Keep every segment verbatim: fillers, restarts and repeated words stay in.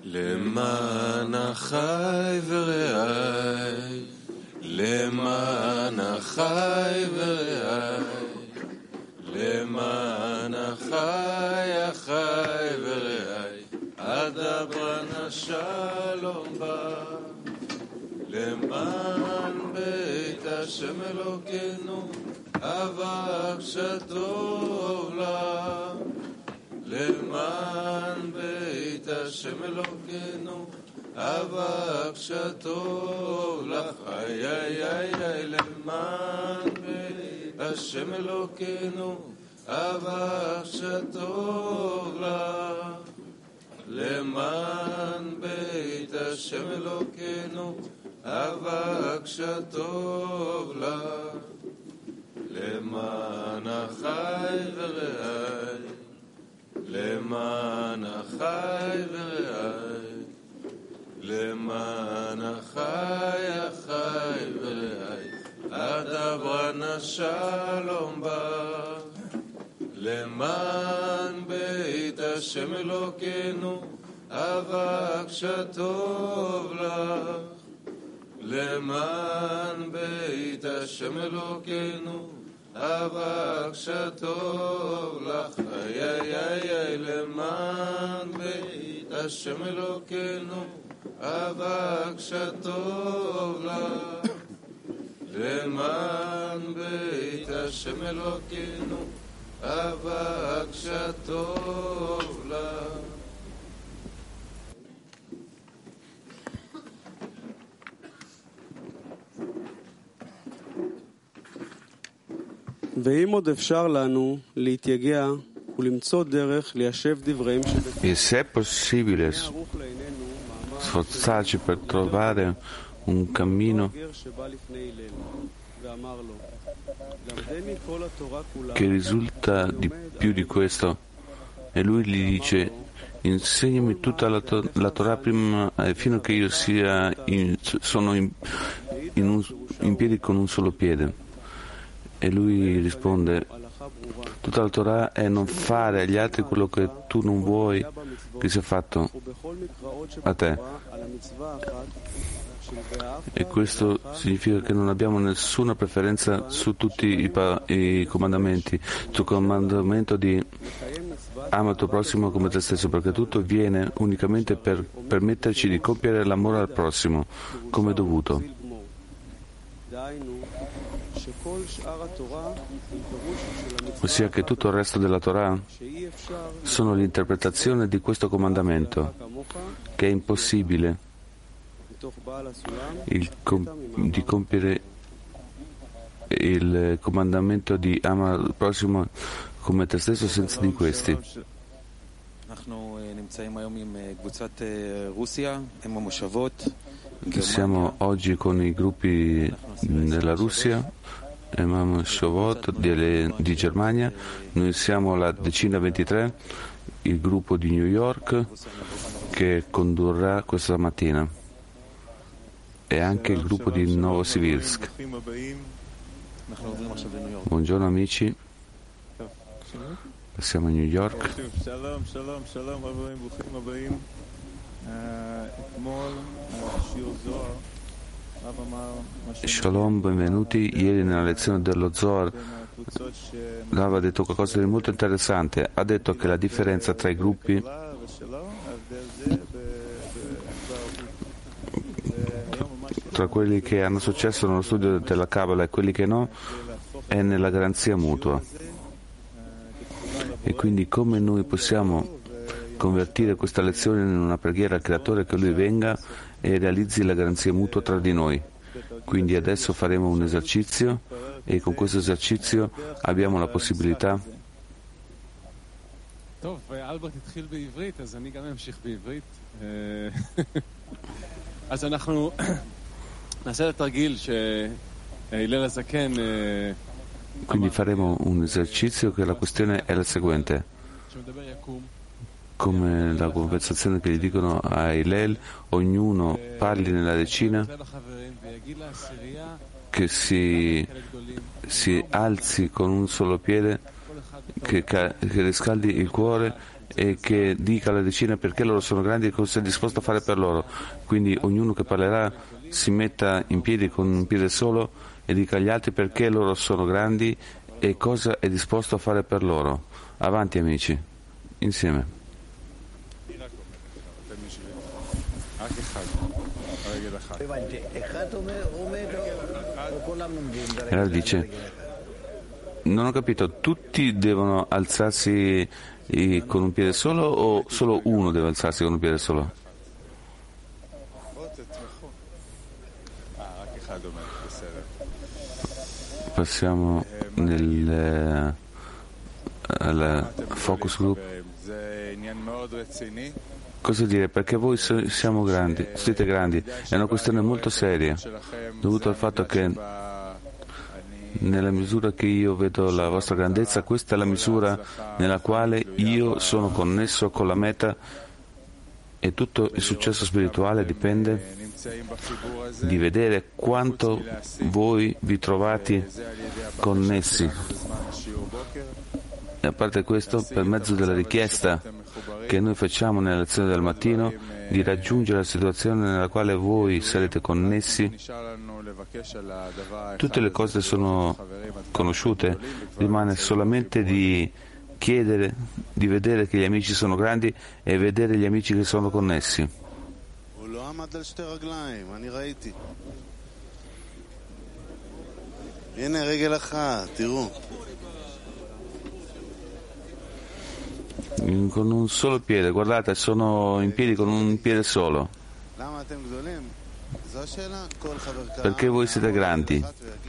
למען אחי ורעי, למען אחי ורעי, למען אחי אחי ורעי, אדברה שלום בא. למען בית השם אלוקינו, אבק שטוב לה. למען בית השם אלוקינו, אבק שטוב לך. איי איי איי איי, למען בית השם אלוקינו, אבק שטוב לך. למען בית השם אלוקינו, אבק שטוב לך. למען אחי ורעי, למען אחי ורעי, למען אחי אחי ורעי, אדברה שלום בא. למען בית השם אלוקינו, אבק שטוב לך. למען בית השם אלוקינו, אבק שטוב לך. איי איי איי איי, למען בית השם אלוקינו, אבק שטוב לך. למען בית השם אלוקינו, אבק שטוב לך. ואם עוד אפשר לנו להתייגע ולמצוא דרך ליישב דבריהם e se è possibile sforzarci per trovare un cammino che risulta di più di questo, e lui gli dice: insegnami tutta la, to- la Torah prima, eh, fino a che io sia in, sono in, in, un, in piedi con un solo piede. E lui risponde: tutta la Torah è non fare agli altri quello che tu non vuoi che sia fatto a te. E questo significa che non abbiamo nessuna preferenza su tutti i, pa- i comandamenti, sul comandamento di ama il tuo prossimo come te stesso, perché tutto viene unicamente per permetterci di compiere l'amore al prossimo come dovuto. Ossia che tutto il resto della Torah sono l'interpretazione di questo comandamento, che è impossibile il com- di compiere il comandamento di ama il prossimo come te stesso senza di questi. Siamo oggi con i gruppi della Russia, Emam Shovot di, di Germania, noi siamo la decina ventitré, il gruppo di New York che condurrà questa mattina, e anche il gruppo di Novosibirsk. Buongiorno amici, passiamo a New York. Shalom, benvenuti. Ieri nella lezione dello Zohar Rav ha detto qualcosa di molto interessante. Ha detto che la differenza tra i gruppi tra quelli che hanno successo nello studio della Kabbalah e quelli che no è nella garanzia mutua. E quindi come noi possiamo convertire questa lezione in una preghiera al Creatore che Lui venga e realizzi la garanzia mutua tra di noi. Quindi adesso faremo un esercizio e con questo esercizio abbiamo la possibilità quindi faremo un esercizio che la questione è la seguente: come la conversazione che gli dicono a Hillel, ognuno parli nella decina, che si, si alzi con un solo piede, che, che riscaldi il cuore e che dica alle decine perché loro sono grandi e cosa è disposto a fare per loro. Quindi ognuno che parlerà si metta in piedi con un piede solo e dica agli altri perché loro sono grandi e cosa è disposto a fare per loro. Avanti amici, insieme. E allora dice, non ho capito, tutti devono alzarsi con un piede solo o solo uno deve alzarsi con un piede solo? Passiamo nel al focus group. Cosa dire? Perché voi siamo grandi, siete grandi, è una questione molto seria, dovuto al fatto che nella misura che io vedo la vostra grandezza, questa è la misura nella quale io sono connesso con la meta e tutto il successo spirituale dipende di vedere quanto voi vi trovate connessi. E a parte questo, per mezzo della richiesta che noi facciamo nella lezione del mattino di raggiungere la situazione nella quale voi sarete connessi, tutte le cose sono conosciute, rimane solamente di chiedere, di vedere che gli amici sono grandi e vedere gli amici che sono connessi. Con un solo piede, guardate, sono in piedi con un piede solo. Perché voi siete grandi?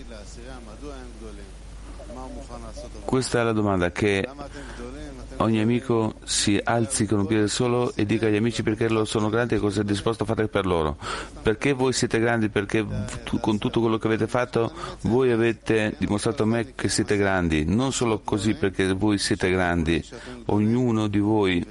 Questa è la domanda, che ogni amico si alzi con un piede solo e dica agli amici perché loro sono grandi e cosa è disposto a fare per loro. Perché voi siete grandi? Perché con tutto quello che avete fatto voi avete dimostrato a me che siete grandi. Non solo così perché voi siete grandi. Ognuno di voi,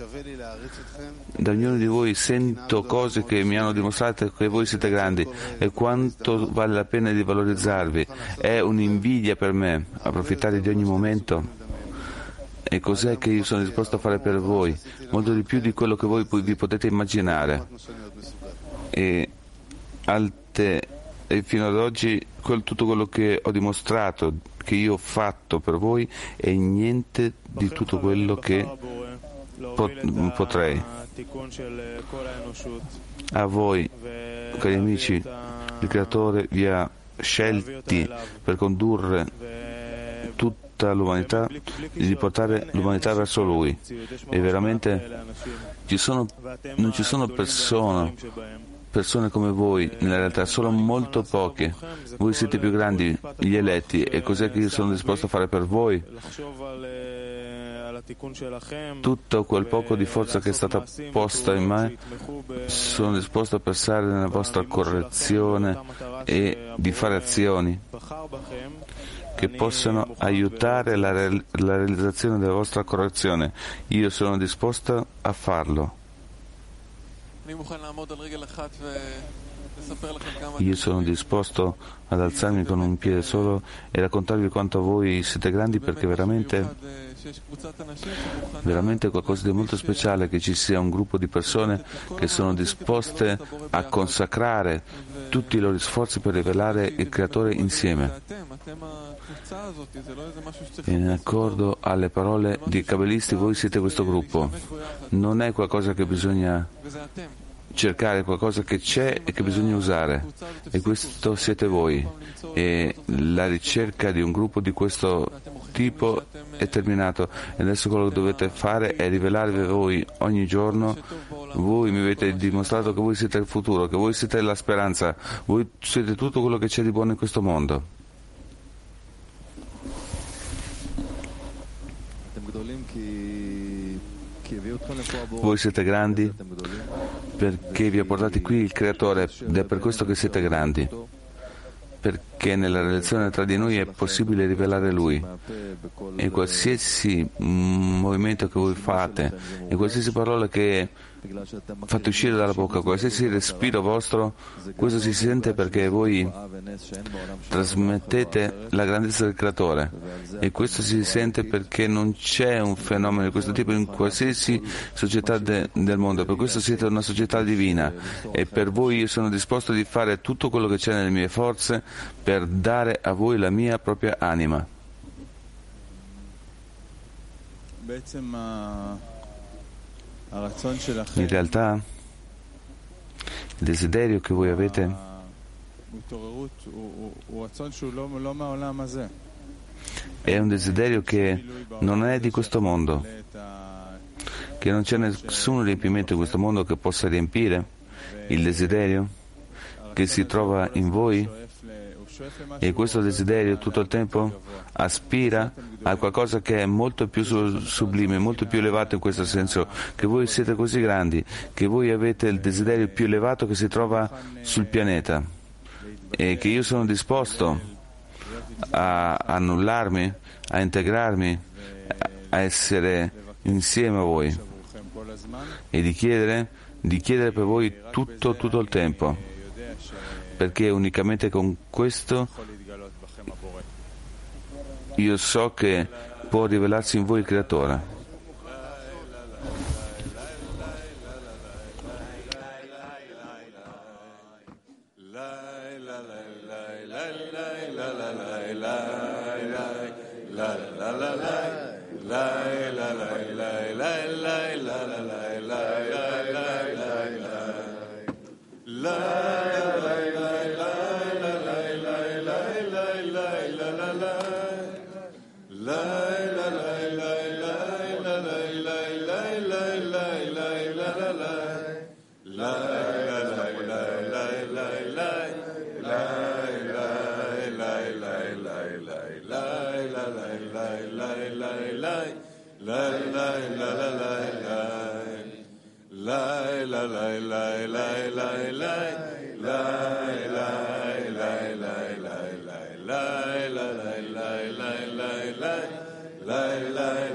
da ognuno di voi sento cose che mi hanno dimostrato che voi siete grandi e quanto vale la pena di valorizzarvi. È un'invidia per me approfittare di ogni momento. E cos'è che io sono disposto a fare per voi? Molto di più di quello che voi vi potete immaginare. E, alte, e fino ad oggi quel, tutto quello che ho dimostrato, che io ho fatto per voi, è niente di tutto quello che pot- potrei. A voi, cari amici, il Creatore vi ha scelti per condurre tutto l'umanità, di portare l'umanità verso Lui, e veramente ci sono, non ci sono persone, persone come voi nella realtà, solo molto poche. Voi siete più grandi, gli eletti, e cos'è che io sono disposto a fare per voi? Tutto quel poco di forza che è stata posta in me, sono disposto a passare nella vostra correzione e di fare azioni che possano aiutare la, re- la realizzazione della vostra correzione. Io sono disposto a farlo. Io sono disposto ad alzarmi con un piede solo e raccontarvi quanto voi siete grandi, perché veramente veramente è qualcosa di molto speciale che ci sia un gruppo di persone che sono disposte a consacrare tutti i loro sforzi per rivelare il Creatore insieme. In accordo alle parole di Kabbalisti, voi siete questo gruppo. Non è qualcosa che bisogna cercare, qualcosa che c'è e che bisogna usare, e questo siete voi, e la ricerca di un gruppo di questo tipo è terminato, e adesso quello che dovete fare è rivelarvi voi ogni giorno. Voi mi avete dimostrato che voi siete il futuro, che voi siete la speranza, voi siete tutto quello che c'è di buono in questo mondo. Voi siete grandi perché vi ha portati qui il Creatore, ed è per questo che siete grandi, perché nella relazione tra di noi è possibile rivelare Lui, e qualsiasi movimento che voi fate e qualsiasi parola che fate uscire dalla bocca, qualsiasi respiro vostro, questo si sente perché voi trasmettete la grandezza del Creatore, e questo si sente perché non c'è un fenomeno di questo tipo in qualsiasi società de, del mondo. Per questo siete una società divina, e per voi io sono disposto di fare tutto quello che c'è nelle mie forze per dare a voi la mia propria anima. In realtà il desiderio che voi avete è un desiderio che non è di questo mondo, che non c'è nessun riempimento in questo mondo che possa riempire il desiderio che si trova in voi, e questo desiderio tutto il tempo aspira a qualcosa che è molto più sublime, molto più elevato, in questo senso che voi siete così grandi, che voi avete il desiderio più elevato che si trova sul pianeta, e che io sono disposto a annullarmi, a integrarmi, a essere insieme a voi, e di chiedere, di chiedere per voi tutto, tutto il tempo, perché unicamente con questo io so che può rivelarsi in voi il Creatore. La